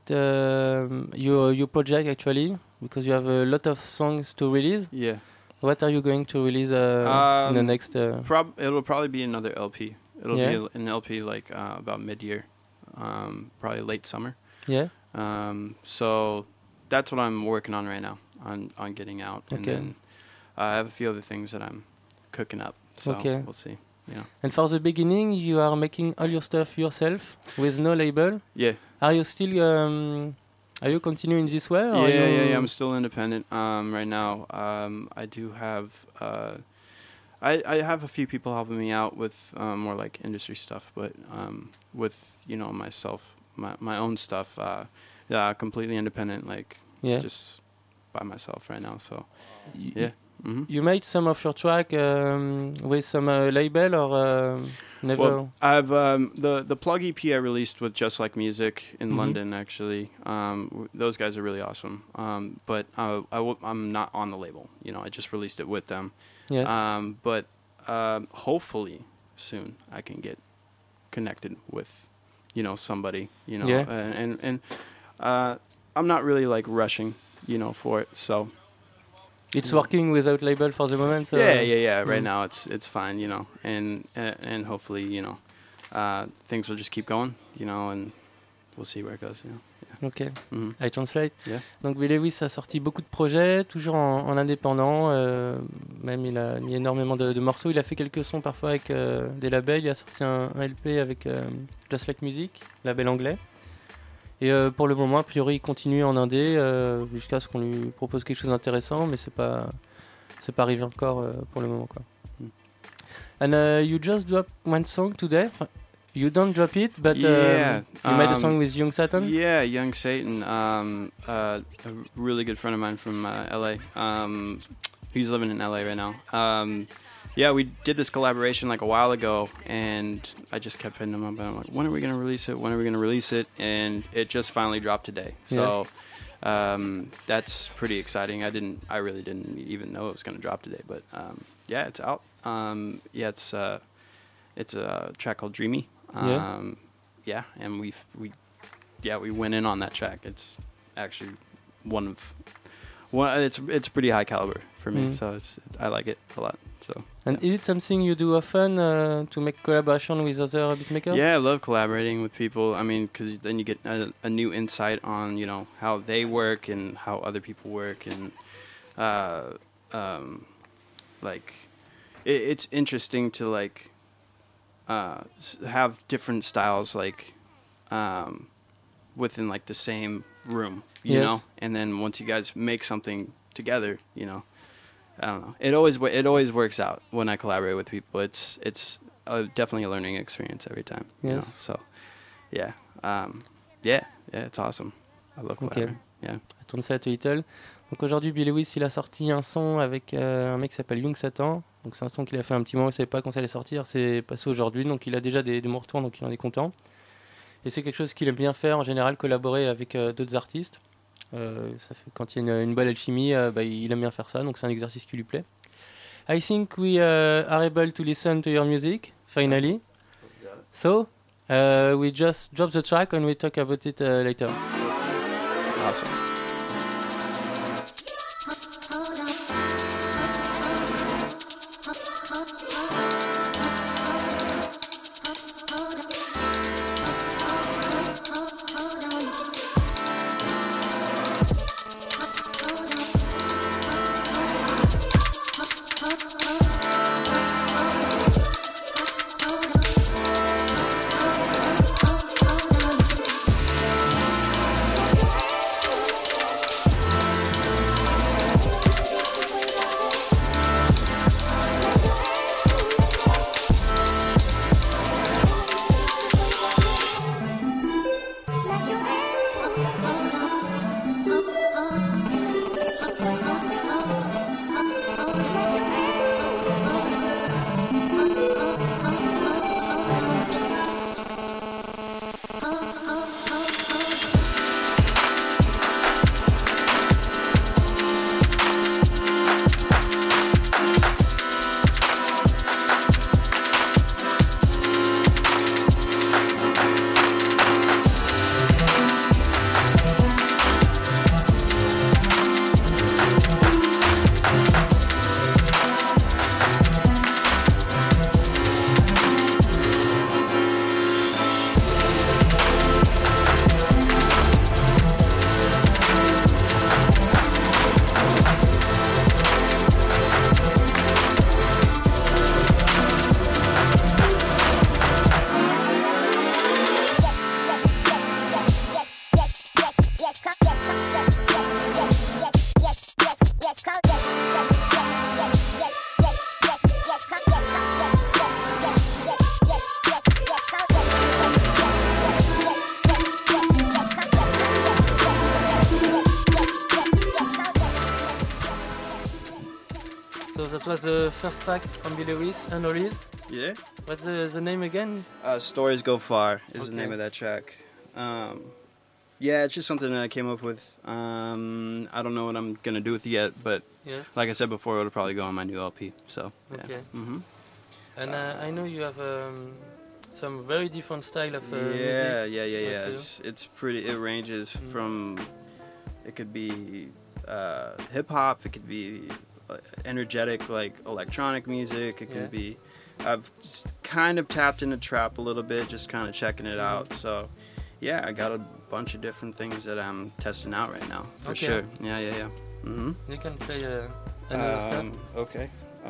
your project actually, because you have a lot of songs to release. Yeah. What are you going to release in the next? It'll probably be another LP. It'll be an LP like about mid-year, probably late summer. Yeah. So that's what I'm working on right now, on getting out, and then I have a few other things that I'm cooking up. So we'll see. Yeah. And for the beginning, you are making all your stuff yourself with no label. Yeah. Are you still? Are you continuing this way? Or Yeah. I'm still independent right now. I do have. I have a few people helping me out with more like industry stuff, but with myself, my own stuff. Completely independent, like just by myself right now. So yeah. Mm-hmm. You made some of your track with some label or never? Well, I've the Plug EP I released with Just Like Music in London actually. Those guys are really awesome. But I'm not on the label. I just released it with them. Yeah. But hopefully soon I can get connected with somebody. Yeah. And I'm not really like rushing for it. So. It's working without label for the moment. So Yeah. Right now it's fine, and hopefully, things will just keep going, and we'll see where it goes. Yeah. Ok. I translate. Yeah. Donc Bill Lewis a sorti beaucoup de projets, toujours en indépendant. Même il a mis énormément de morceaux. Il a fait quelques sons parfois avec des labels. Il a sorti un LP avec Just Like Music, label anglais. Et pour le moment, a priori, il continue en indé jusqu'à ce qu'on lui propose quelque chose d'intéressant, mais c'est pas arrivé encore pour le moment, quoi. And you just dropped one song today. You don't drop it, but you made a song with Young Satan? Yeah, Young Satan. A really good friend of mine from LA. He's living in LA right now. Yeah, we did this collaboration like a while ago, and I just kept hitting him up. And I'm like, when are we going to release it? When are we going to release it? And it just finally dropped today. So that's pretty exciting. I really didn't even know it was going to drop today. But yeah, it's out. It's a track called Dreamy. Yeah, and we went in on that track. It's actually it's pretty high caliber for me, so I like it a lot. So. And is it something you do often to make collaboration with other beatmakers? Yeah, I love collaborating with people. I mean, because then you get a new insight on how they work and how other people work, and it's interesting to have different styles within the same room, you know, and then once you guys make something together, I don't know. It always works out when I collaborate with people. It's definitely a learning experience every time. You know? So, yeah, it's awesome. I love collaborating. Yeah. Je tourne ça à Little. Donc aujourd'hui, Bill Lewis, il a sorti un son avec un mec qui s'appelle Young Satan. Donc c'est un son qu'il a fait un petit moment, il ne savait pas quand ça allait sortir. C'est passé aujourd'hui, donc il a déjà des bons retours, donc il en est content. Et c'est quelque chose qu'il aime bien faire en général, collaborer avec d'autres artistes. Ça fait, quand il y a une bonne alchimie, il aime bien faire ça, donc c'est un exercice qui lui plaît. I think we are able to listen to your music, finally. So, we just drop the track and we talk about it later. Awesome. That was the first track from Bill Lewis, Unreleased. Yeah. What's the name again? Stories Go Far is the name of that track. Yeah, it's just something that I came up with. I don't know what I'm going to do with it yet, but like I said before, it'll probably go on my new LP. So, yeah. Okay. Mm-hmm. And I know you have some very different style of music. Yeah. It's pretty. It ranges from. It could be hip hop. It could be energetic, like electronic music. It can be. I've kind of tapped into trap a little bit, just kind of checking it out. So, yeah, I got a bunch of different things that I'm testing out right now, for sure. Yeah. Mm-hmm. You can play another stuff. Okay.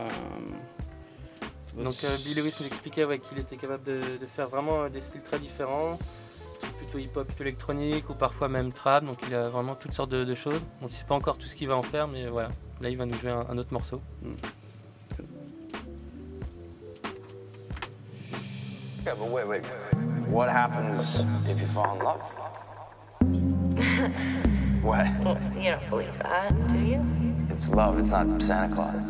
Donc Bill Lewis nous expliquait qu'il était capable de faire vraiment des styles très différents, plutôt hip-hop, plutôt électronique ou parfois même trap, donc il a vraiment toutes sortes de choses. On ne sait pas encore tout ce qu'il va en faire, mais voilà, là il va nous jouer un autre morceau. Yeah, but wait. What happens if you fall in love? What? You don't believe that, do you? It's love, it's not Santa Claus.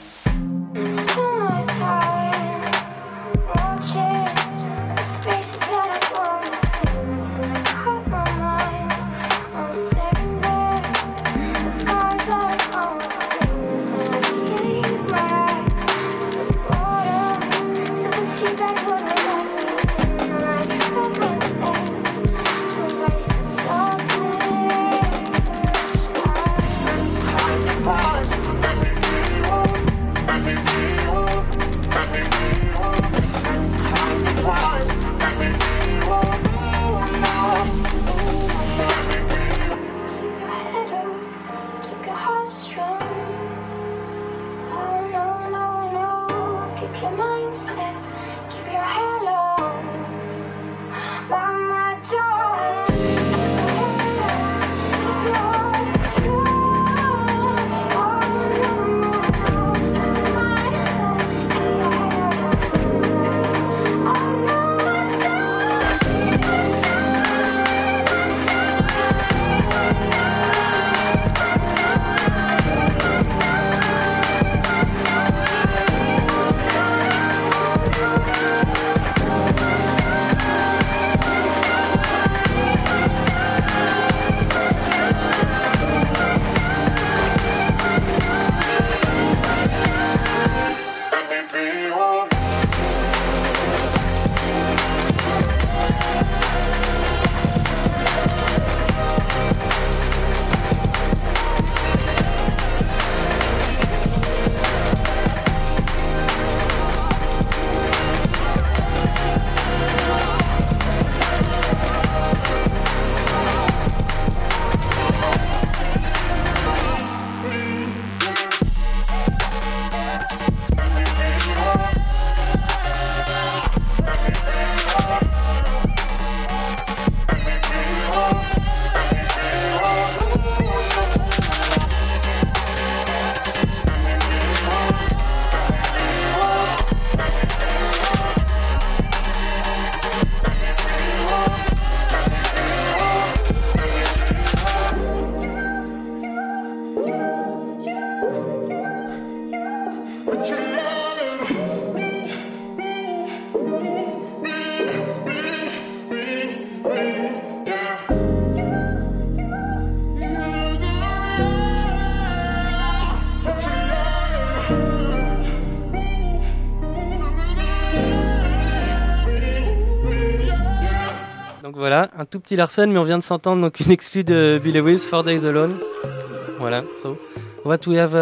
Voilà, un tout petit Larsen, mais on vient de s'entendre, donc une exclue de Bill Lewis, 4 Days Alone. Voilà, so what we have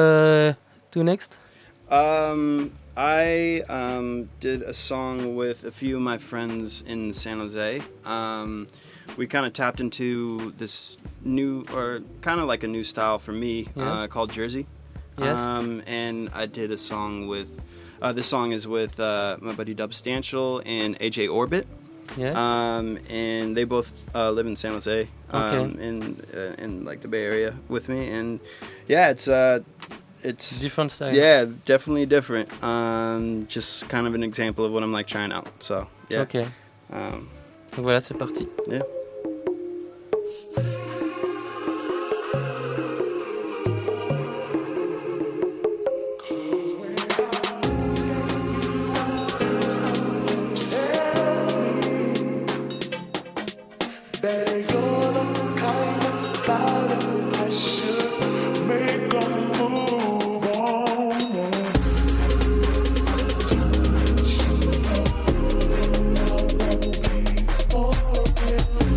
to next? I did a song with a few of my friends in San Jose. We kind of tapped into this new, or kind of like a new style for me, called Jersey. Yes. And I did a song with, this song is with my buddy Dubstantial and AJ Orbit. Yeah. And they both live in San Jose, in like the Bay Area with me, and yeah, it's different style. Yeah, definitely different. Just kind of an example of what I'm like trying out. So yeah. Okay. Donc voilà, c'est parti. Yeah. Oh,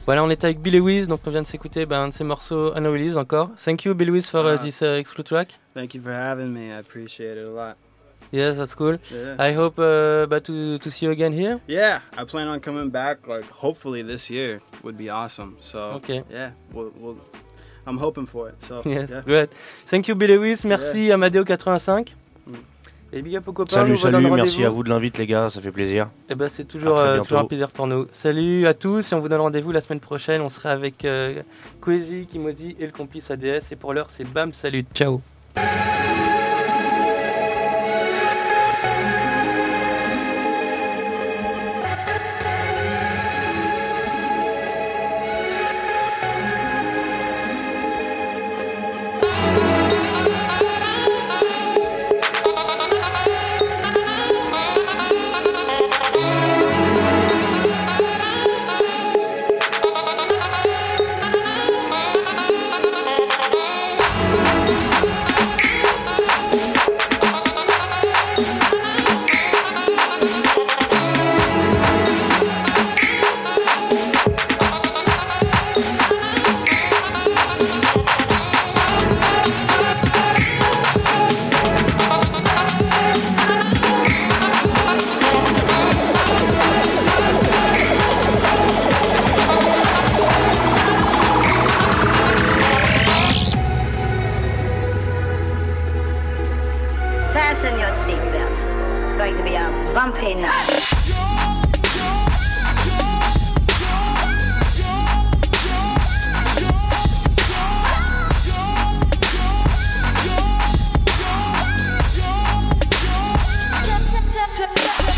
Voilà, on était avec Bill Lewis, donc on vient de s'écouter un de ses morceaux unreleased encore. Thank you, Bill Lewis, for this exclusive track. Thank you for having me. I appreciate it a lot. Yes, that's cool. Yeah. I hope to see you again here. Yeah, I plan on coming back. Hopefully this year would be awesome. So okay. Yeah, I'm hoping for it. So yes, yeah. Good. Thank you, Bill Lewis. Merci Amadeo85. Et big up aux copains. Salut, merci à vous de l'invite les gars, ça fait plaisir. Et c'est toujours un plaisir pour nous. Salut à tous et on vous donne rendez-vous la semaine prochaine. On sera avec Kwezi, Kimozi et le complice ADS. Et pour l'heure, c'est bam, salut, ciao. Fasten your seatbelts. It's going to be a bumpy night. Tap, tap, tap, tap.